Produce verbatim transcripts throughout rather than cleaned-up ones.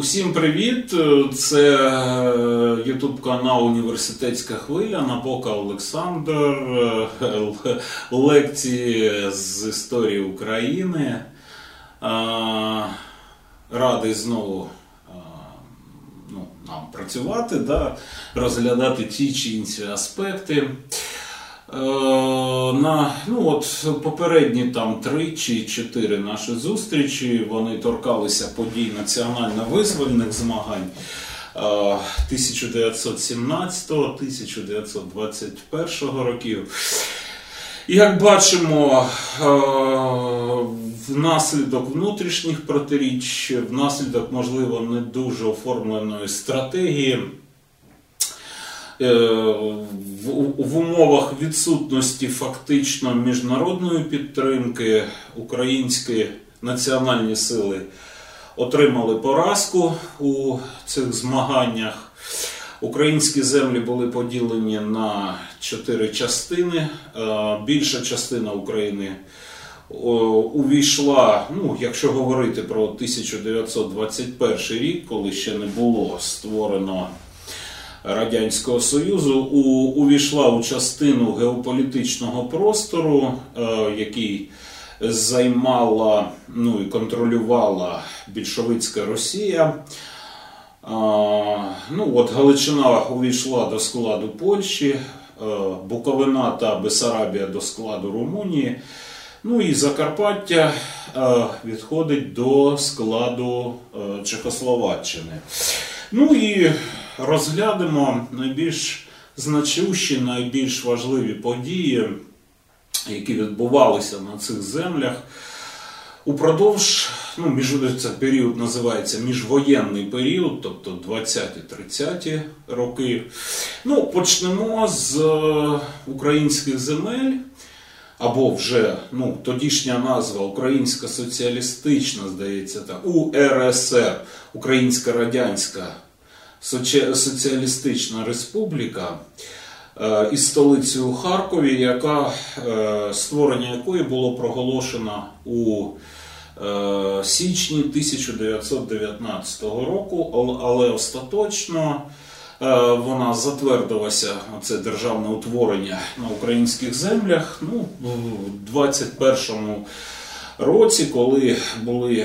Всім привіт! Це ютуб канал Університетська хвиля, Напока Олександр, лекції з історії України. Радий знову ну, нам працювати, да, розглядати ті чи інші аспекти. На ну от попередні там три чи чотири наші зустрічі, вони торкалися подій національно-визвольних змагань тисяча дев'ятсот сімнадцятого - тисяча дев'ятсот двадцять першого років. І як бачимо, внаслідок внутрішніх протиріч, внаслідок, можливо, не дуже оформленої стратегії, в умовах відсутності фактично міжнародної підтримки українські національні сили отримали поразку у цих змаганнях. Українські землі були поділені на чотири частини. Більша частина України увійшла, ну, якщо говорити про тисяча дев'ятсот двадцять перший рік, коли ще не було створено Радянського Союзу, у, увійшла у частину геополітичного простору, е, який займала, ну і контролювала більшовицька Росія. Е, ну от Галичина увійшла до складу Польщі, е, Буковина та Бессарабія до складу Румунії, ну і Закарпаття е, відходить до складу е, Чехословаччини. Ну і розглянемо найбільш значущі, найбільш важливі події, які відбувалися на цих землях упродовж, ну, між, це період називається міжвоєнний період, тобто двадцяті-тридцяті роки. Ну, почнемо з українських земель, або вже, ну, тодішня назва Українська соціалістична, здається так, У Р С Р, Українська Радянська Соціалістична Республіка, із столицею у Харкові, яка, створення якої було проголошено у січні тисяча дев'ятсот дев'ятнадцятого року, але остаточно вона затвердилася, це державне утворення на українських землях, ну, в двадцять першому році, коли були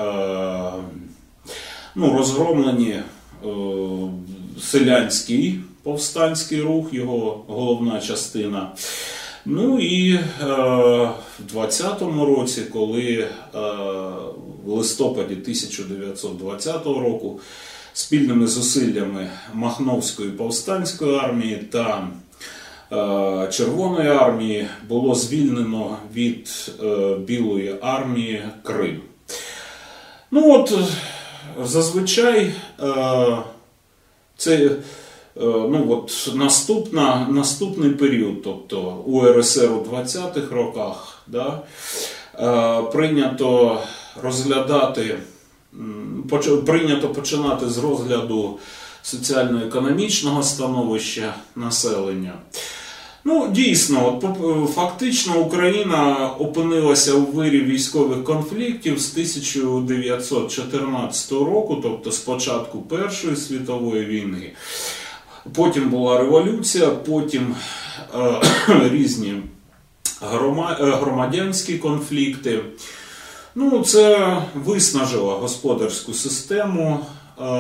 ну, розгромлені селянський повстанський рух, його головна частина. Ну і е, в двадцятому році, коли е, в листопаді тисяча дев'ятсот двадцятого року спільними зусиллями Махновської повстанської армії та е, Червоної армії було звільнено від е, Білої армії Крим. Ну от, зазвичай е, це ну, от, наступна, наступний період, тобто У Р С Р у двадцятих роках, да, е, прийнято розглядати, поч, прийнято починати з розгляду соціально-економічного становища населення. Ну, дійсно, от, фактично Україна опинилася у вирі військових конфліктів з тисяча дев'ятсот чотирнадцятого року, тобто з початку Першої світової війни. Потім була революція, потім е, різні громадянські конфлікти. Ну, це виснажило господарську систему е,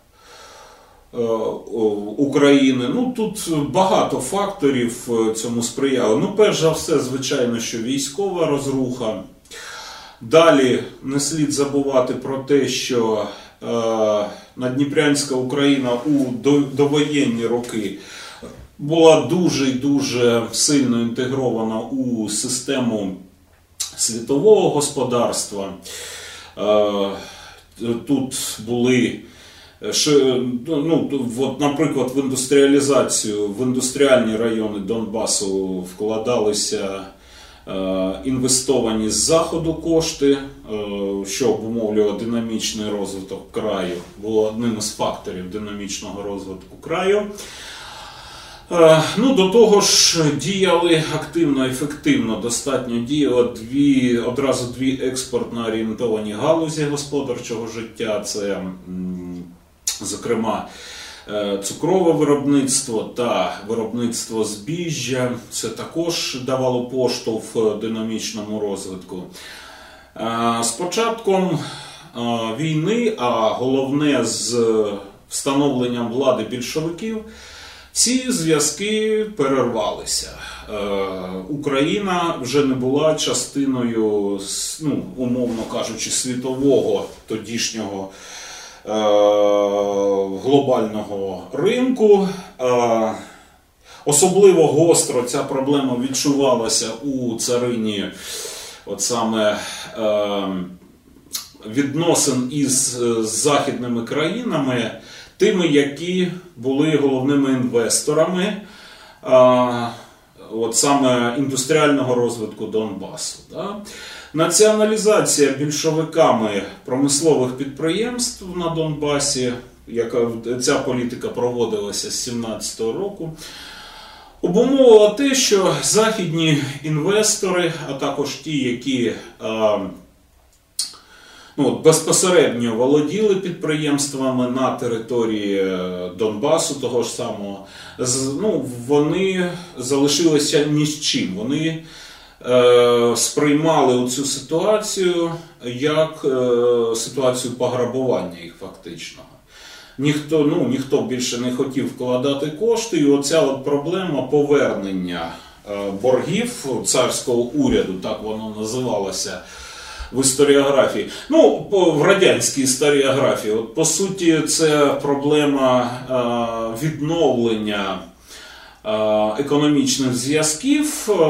України. Ну, тут багато факторів цьому сприяло. Ну, перш за все, звичайно, що військова розруха. Далі не слід забувати про те, що е, Надніпрянська Україна у довоєнні роки була дуже і дуже сильно інтегрована у систему світового господарства. Е, тут були Ну, от, наприклад, в індустріалізацію, в індустріальні райони Донбасу вкладалися е, інвестовані з заходу кошти, е, що обумовлювало динамічний розвиток краю, було одним із факторів динамічного розвитку краю. Е, ну, до того ж, діяли активно, ефективно, достатньо діяли дві, одразу дві експортно орієнтовані галузі господарчого життя. Це м, зокрема, цукрове виробництво та виробництво збіжжя. Це також давало поштовх динамічному розвитку. З початком війни, а головне з встановленням влади більшовиків, ці зв'язки перервалися. Україна вже не була частиною, ну, умовно кажучи, світового тодішнього глобального ринку. Особливо гостро ця проблема відчувалася у царині от саме відносин із західними країнами, тими, які були головними інвесторами от саме індустріального розвитку Донбасу. Да? Націоналізація більшовиками промислових підприємств на Донбасі, яка ця політика проводилася з сімнадцятого року, обумовила те, що західні інвестори, а також ті, які а, ну, безпосередньо володіли підприємствами на території Донбасу, того ж самого, ну, вони залишилися ні з чим. Вони е, сприймали цю ситуацію як е, ситуацію пограбування їх фактичного. Ніхто, ну, ніхто більше не хотів вкладати кошти, і оця от проблема повернення е, боргів царського уряду, так воно називалося в історіографії, ну, в радянській історіографії. От, по суті, це проблема е, відновлення е, економічних зв'язків, е,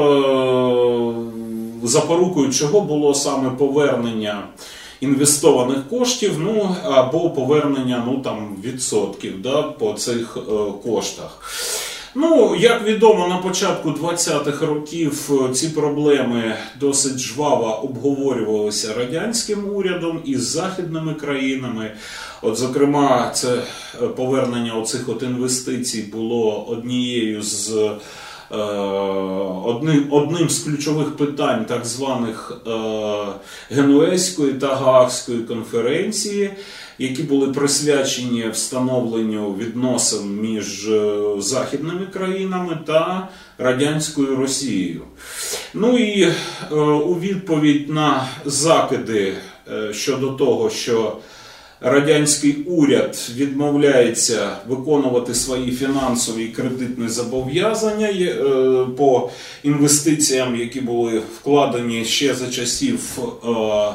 запорукою чого було саме повернення інвестованих коштів, ну, або повернення, ну, там, відсотків, да, по цих е, коштах. Ну, як відомо, на початку двадцятих років ці проблеми досить жваво обговорювалися радянським урядом із західними країнами. От, зокрема, це повернення оцих от інвестицій було однією з е, одним, одним з ключових питань так званих е, Генуезької та Гаагської конференції, які були присвячені встановленню відносин між західними країнами та радянською Росією. Ну і е, у відповідь на закиди е, щодо того, що радянський уряд відмовляється виконувати свої фінансові і кредитні зобов'язання е, по інвестиціям, які були вкладені ще за часів е,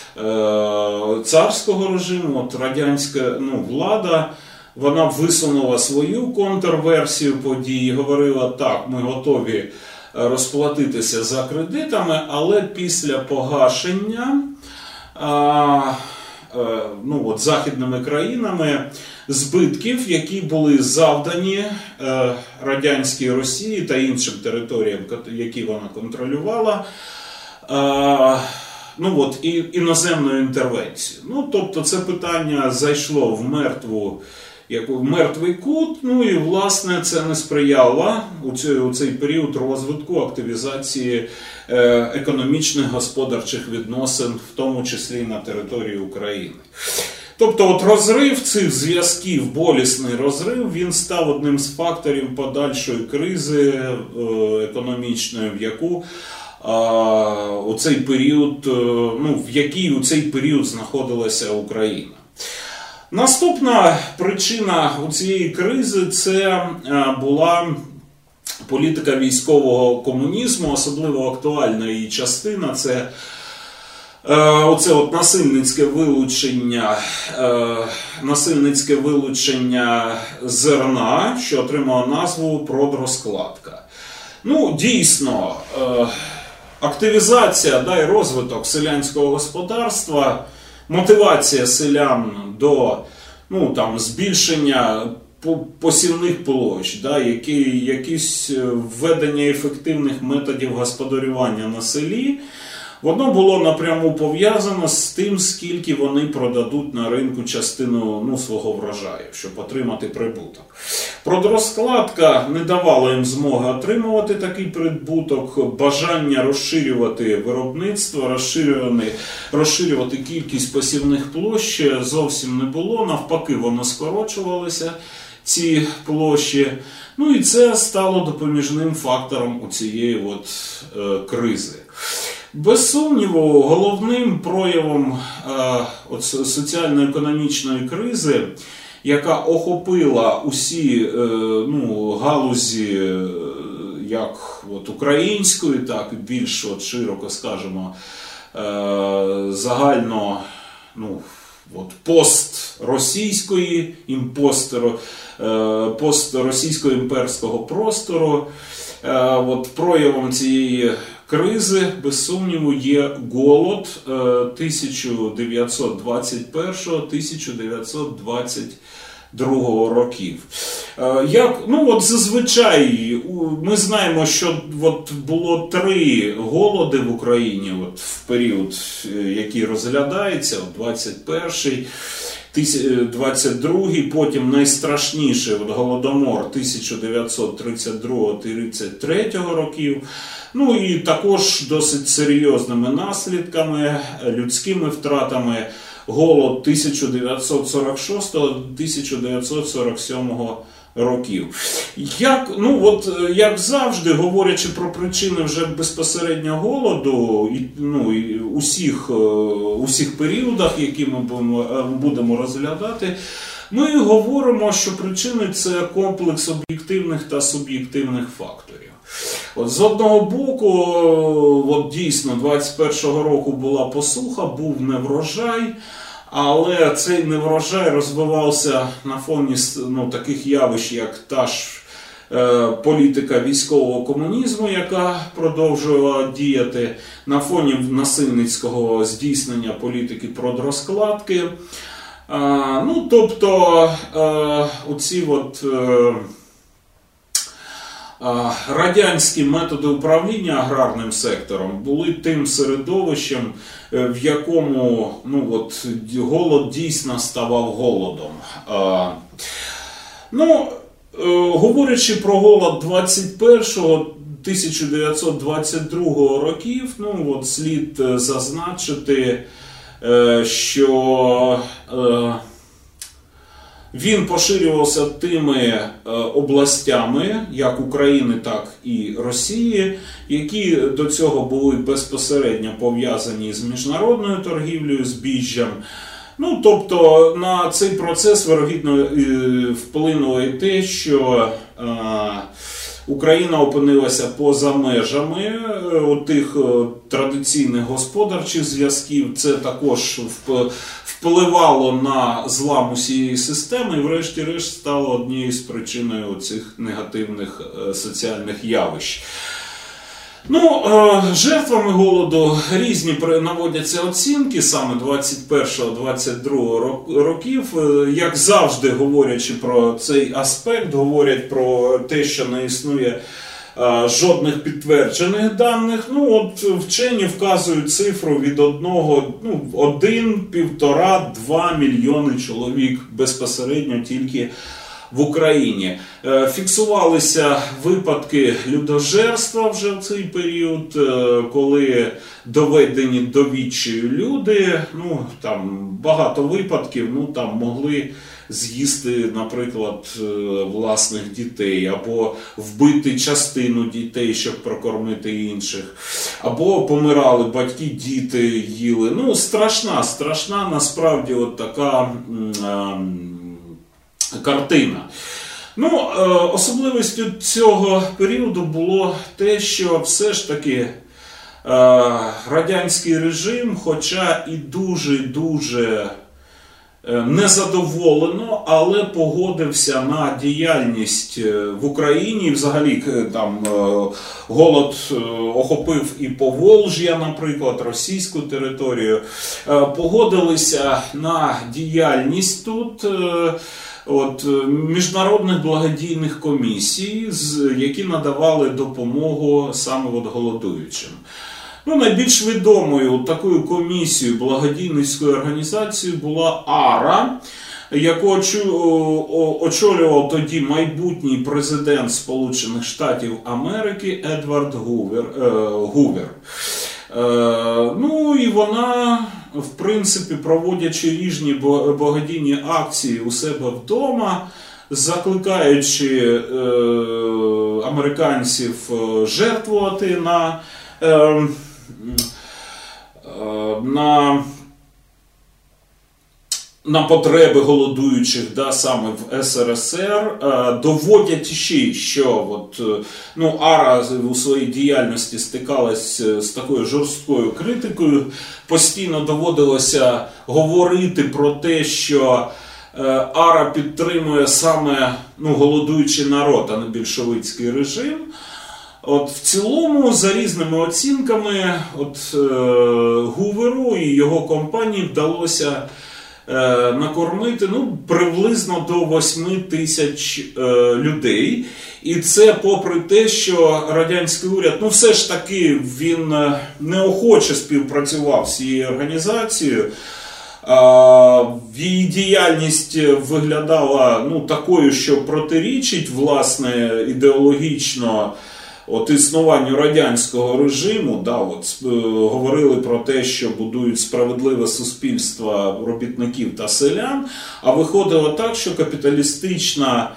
царського режиму, от радянська, ну, влада, вона висунула свою контрверсію подій, говорила, так, ми готові розплатитися за кредитами, але після погашення а, а, ну, от, західними країнами збитків, які були завдані а, радянській Росії та іншим територіям, які вона контролювала, а, ну от, і іноземною інтервенцією. Ну, тобто це питання зайшло в мертву, як в мертвий кут, ну і, власне, це не сприяло у цей, у цей період розвитку, активізації е, економічних, господарчих відносин, в тому числі на території України. Тобто от розрив цих зв'язків, болісний розрив, він став одним з факторів подальшої кризи е, економічної, в яку у цей період, ну, в якій у цей період знаходилася Україна. Наступна причина у цієї кризи – це була політика військового комунізму, особливо актуальна її частина – це оце от насильницьке вилучення, насильницьке вилучення зерна, що отримало назву продрозкладка. Ну, дійсно, активізація, да, і розвиток селянського господарства, мотивація селян до, ну, там, збільшення посівних площ, да, які, якісь введення ефективних методів господарювання на селі, воно було напряму пов'язано з тим, скільки вони продадуть на ринку частину, ну, свого врожаю, щоб отримати прибуток. Продрозкладка не давала їм змоги отримувати такий прибуток, бажання розширювати виробництво, розширювати, розширювати кількість посівних площ зовсім не було, навпаки воно скорочувалося, ці площі. Ну і це стало допоміжним фактором у цієї от, е, кризи. Без сумніву, головним проявом е, от, соціально-економічної кризи, яка охопила усі е, ну, галузі е, як от, української, так і більш от, широко, скажімо, е, загально, ну, от, постросійської, пост, е, постросійського імперського простору. Е, от, проявом цієї кризи, без сумніву, є голод тисяча дев'ятсот двадцять першого - тисяча дев'ятсот двадцять другого років. Як, ну от зазвичай ми знаємо, що от було три голоди в Україні от в період, який розглядається, двадцять перший, двадцять другий, потім найстрашніший от, голодомор тисяча дев'ятсот тридцять другого - тридцять третього років. Ну і також досить серйозними наслідками, людськими втратами голод тисяча дев'ятсот сорок шостого - тисяча дев'ятсот сорок сьомого років. Як, ну, от, як завжди, говорячи про причини вже безпосередньо голоду, і, ну, і усіх, усіх періодах, які ми будемо, будемо розглядати, ми говоримо, що причини – це комплекс об'єктивних та суб'єктивних факторів. От, з одного боку, от, дійсно, двадцять першого року була посуха, був неврожай, але цей неврожай розвивався на фоні ну, таких явищ, як та ж е, політика військового комунізму, яка продовжувала діяти, на фоні насильницького здійснення політики продрозкладки. Е, ну, тобто, е, оці от... Е, радянські методи управління аграрним сектором були тим середовищем, в якому ну, от, голод дійсно ставав голодом. Ну, говорячи про голод двадцять першого - тисяча дев'ятсот двадцять другого років, ну, от, слід зазначити, що він поширювався тими областями, як України, так і Росії, які до цього були безпосередньо пов'язані з міжнародною торгівлею збіжжям. Ну, тобто на цей процес, вирогідно, вплинуло і те, що е, Україна опинилася поза межами тих традиційних господарчих зв'язків. Це також впливало на злам усієї системи і врешті-решт стало однією з причиною цих негативних соціальних явищ. Ну, жертвами голоду різні наводяться оцінки, саме двадцять першого - двадцять другого років. Як завжди, говорячи про цей аспект, говорять про те, що не існує жодних підтверджених даних. Ну, от вчені вказують цифру від одного, ну, один, півтора, два мільйони чоловік безпосередньо тільки в Україні. Фіксувалися випадки людожерства вже в цей період, коли доведені до відчаю люди, ну, там багато випадків, ну, там могли з'їсти, наприклад, власних дітей, або вбити частину дітей, щоб прокормити інших, або помирали батьки, діти їли. Ну, страшна, страшна насправді от така картина. Ну, особливістю цього періоду було те, що все ж таки радянський режим, хоча і дуже-дуже незадоволено, але погодився на діяльність в Україні. Взагалі там голод охопив і Поволжя, наприклад, російську територію. Погодилися на діяльність тут от, міжнародних благодійних комісій, які надавали допомогу саме от голодуючим. Ну, найбільш відомою такою комісією, благодійницькою організацією була АРА, яку очолював тоді майбутній президент Сполучених Штатів Америки Едвард Гувер. Гувер. Ну і вона, в принципі, проводячи різні благодійні акції у себе вдома, закликаючи е, американців жертвувати на, е, е, на, на потреби голодуючих, да, саме в ес ер ес ер, е, доводять ще, що от, ну, АРА у своїй діяльності стикалась з такою жорсткою критикою, постійно доводилося говорити про те, що АРА підтримує саме, ну, голодуючий народ, а не більшовицький режим. От в цілому, за різними оцінками, от е, Гуверу і його компанії вдалося е, накормити, ну, приблизно до восьми тисяч е, людей. І це попри те, що радянський уряд, ну, все ж таки, він неохоче співпрацював з цією організацією. Її діяльність виглядала, ну, такою, що протирічить, власне, ідеологічно от існуванню радянського режиму. Да, от, говорили про те, що будують справедливе суспільство робітників та селян, а виходило так, що капіталістична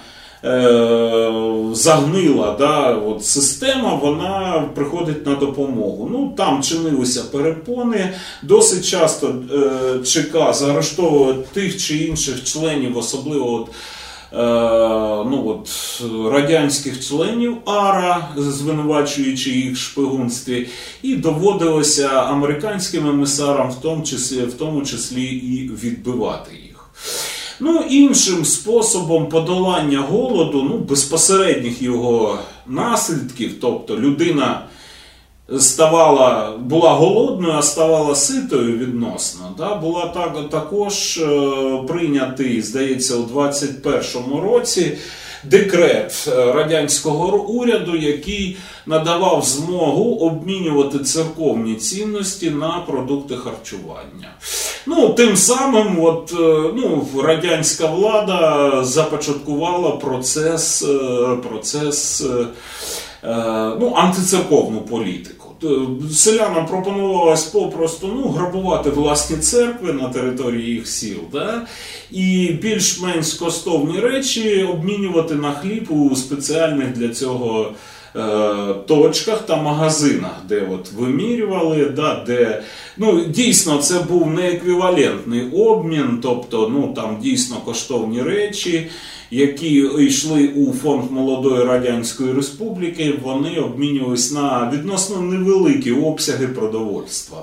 загнила, да, от система, вона приходить на допомогу. Ну, там чинилися перепони, досить часто е, ЧК заарештовували тих чи інших членів, особливо от, е, ну, от, радянських членів АРА, звинувачуючи їх в шпигунстві, і доводилося американським емісарам в тому числі, в тому числі і відбивати їх. Ну, іншим способом подолання голоду, ну, безпосередніх його наслідків, тобто людина ставала, була голодною, а ставала ситою відносно, да, була так, також е, прийнятий, здається, у двадцять першому році декрет радянського уряду, який надавав змогу обмінювати церковні цінності на продукти харчування. Ну, тим самим от, ну, радянська влада започаткувала процес, процес ну, антицерковну політику. Селянам пропонувалось попросту, ну, грабувати власні церкви на території їх сіл, да? І більш-менш коштовні речі обмінювати на хліб у спеціальних для цього е, точках та магазинах, де от вимірювали, да, де, ну, дійсно це був не еквівалентний обмін, тобто, ну, там дійсно коштовні речі, які йшли у фонд Молодої Радянської Республіки, вони обмінювалися на відносно невеликі обсяги продовольства.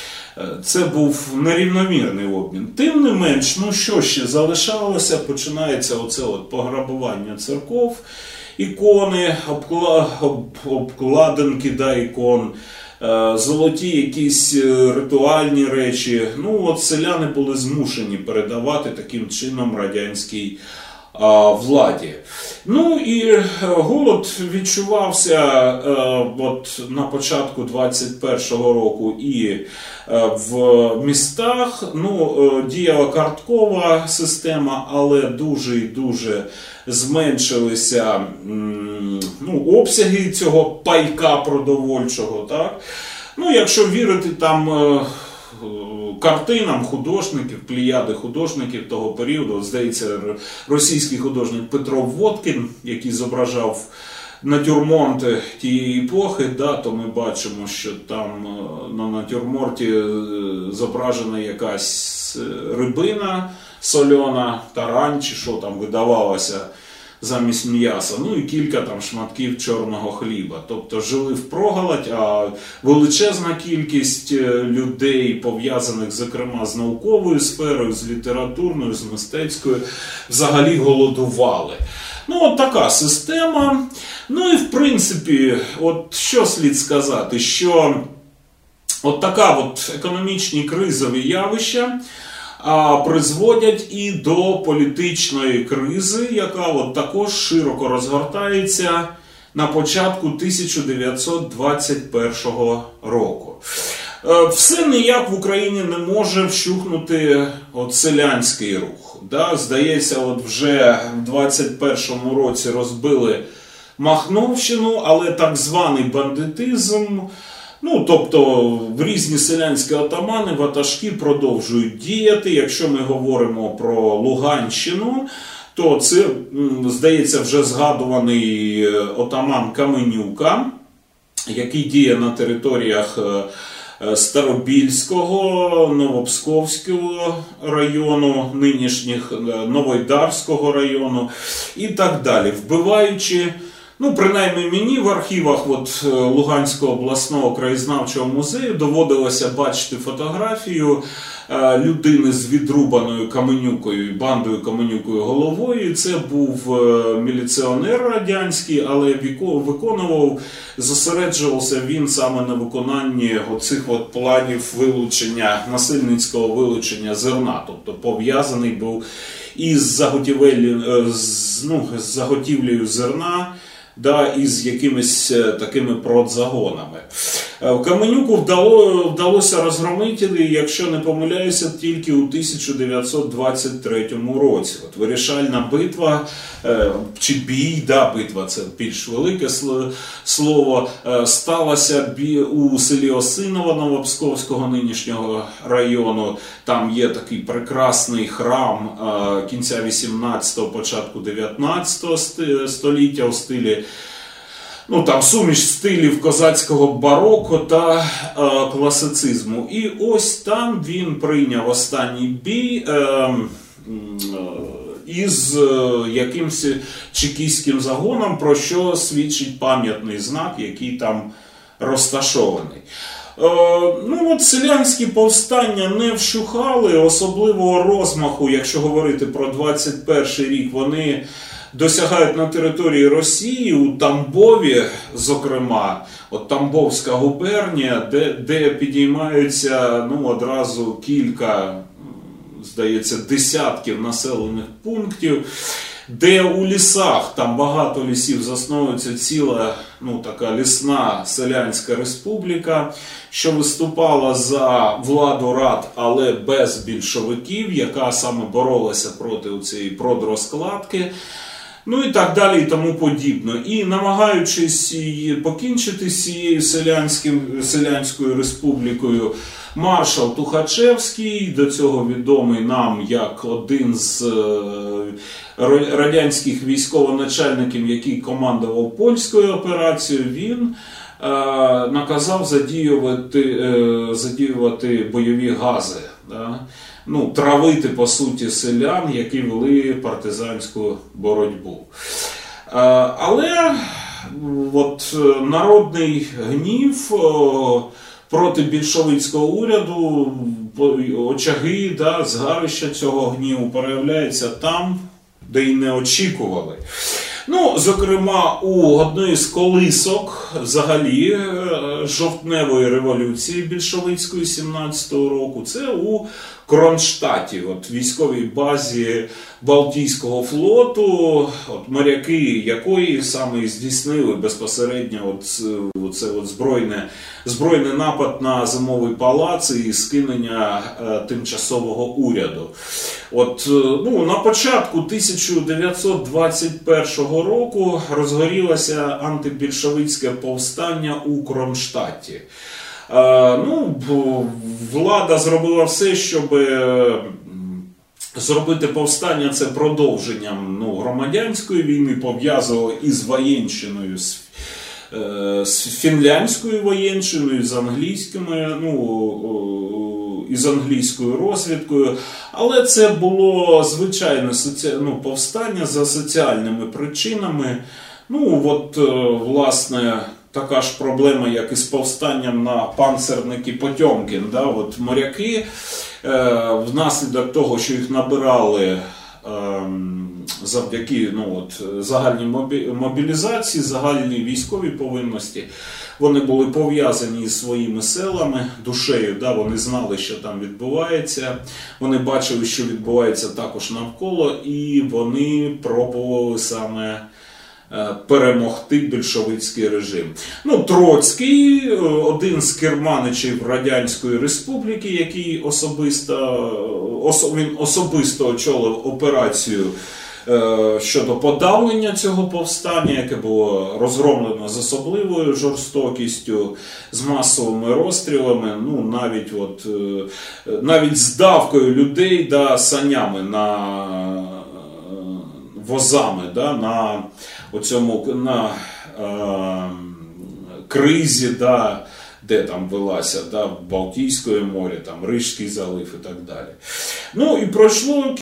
Це був нерівномірний обмін. Тим не менш, ну що ще залишалося, починається оце от пограбування церков, ікони, обкла... об... обкладинки, да, ікон, золоті якісь ритуальні речі. Ну от селяни були змушені передавати таким чином радянській владі. Ну і голод відчувався е, от на початку двадцять першого року і е, в містах. Ну, е, діяла карткова система, але дуже і дуже зменшилися м, ну, обсяги цього пайка продовольчого. Так? Ну, якщо вірити там е, картинам художників, плеяди художників того періоду, здається, російський художник Петро Водкін, який зображав натюрморти тієї епохи, да, то ми бачимо, що там на натюрморті зображена якась рибина сольона, тарань чи що там видавалося замість м'яса, ну і кілька там шматків чорного хліба. Тобто жили впроголодь, а величезна кількість людей, пов'язаних, зокрема, з науковою сферою, з літературною, з мистецькою, взагалі голодували. Ну, от така система. Ну і, в принципі, от що слід сказати, що от така от економічні кризові явища а призводять і до політичної кризи, яка от також широко розгортається на початку тисяча дев'ятсот двадцять першого року. Все ніяк в Україні не може вщухнути от селянський рух. Да? Здається, от вже в двадцять першому році розбили Махновщину, але так званий бандитизм, ну, тобто в різні селянські отамани, ватажки продовжують діяти. Якщо ми говоримо про Луганщину, то це, здається, вже згадуваний отаман Каменюка, який діє на територіях Старобільського, Новопсковського району, нинішніх Новоайдарського району і так далі, вбиваючи, ну, принаймні мені в архівах от, Луганського обласного краєзнавчого музею доводилося бачити фотографію е, людини з відрубаною Каменюкою і бандою Каменюкою головою. Це був е, міліціонер радянський, але виконував, зосереджувався він саме на виконанні оцих от планів вилучення, насильницького вилучення зерна, тобто пов'язаний був із заготівель, з, ну, з заготівлею зерна, да, із якимись такими продзагонами. Каменюку вдало, вдалося розгромити, якщо не помиляюся, тільки у тисяча дев'ятсот двадцять третьому році. От вирішальна битва, чи бій, да, битва, це більш велике слово, сталася у селі Осиново Новопсковського нинішнього району. Там є такий прекрасний храм кінця вісімнадцятого, початку дев'ятнадцятого століття у стилі, ну, там суміш стилів козацького бароко та е, класицизму. І ось там він прийняв останній бій е, е, із е, якимось чекістським загоном, про що свідчить пам'ятний знак, який там розташований. Е, ну от селянські повстання не вщухали, особливого розмаху, якщо говорити про двадцять перший рік, вони досягають на території Росії, у Тамбові, зокрема, от Тамбовська губернія, де, де підіймаються, ну, одразу кілька, здається, десятків населених пунктів, де у лісах, там багато лісів, засновується ціла, ну, така лісна селянська республіка, що виступала за владу рад, але без більшовиків, яка саме боролася проти цієї продрозкладки. Ну і так далі, і тому подібне. І намагаючись покінчити з цією селянською республікою, маршал Тухачевський, до цього відомий нам як один з радянських військовоначальників, який командував польською операцією, він е, наказав задіювати, е, задіювати бойові гази. Да? Ну, травити, по суті, селян, які вели партизанську боротьбу. Але от, народний гнів проти більшовицького уряду, очаги, да, згарища цього гніву проявляються там, де й не очікували. Ну, зокрема, у одної з колисок взагалі жовтневої революції більшовицької сімнадцятого року, це у Кронштадті, от військовій базі Балтійського флоту, от моряки якої саме здійснили безпосередньо от, оце от збройне, збройний напад на Зимовий палац і скинення е, тимчасового уряду. От, ну, на початку тисяча дев'ятсот двадцять першого року розгорілося антибільшовицьке повстання у Кронштадті. Е, ну, влада зробила все, щоб зробити повстання це продовженням, ну, громадянської війни, пов'язували із воєнщиною, з, е, з фінляндською воєнщиною, з англійськими, ну, із англійською розвідкою. Але це було звичайне соці... ну, повстання за соціальними причинами. Ну, от, власне, така ж проблема, як і з повстанням на панцерники Потьомкін. Да? От моряки, е, внаслідок того, що їх набирали е, завдяки, ну, от, загальній мобілізації, загальній військовій повинності, вони були пов'язані із своїми селами, душею, да? Вони знали, що там відбувається, вони бачили, що відбувається також навколо, і вони пробували саме перемогти більшовицький режим. Ну, Троцький, один з керманичів Радянської Республіки, який особисто, він особисто очолив операцію щодо подавлення цього повстання, яке було розгромлено з особливою жорстокістю, з масовими розстрілами, ну, навіть, от, навіть з давкою людей, да, санями на возами, да, на оцьому, на е, кризі, да, де там велася, да, в Балтійському морі, там Рижський залив і так далі. Ну і пройшло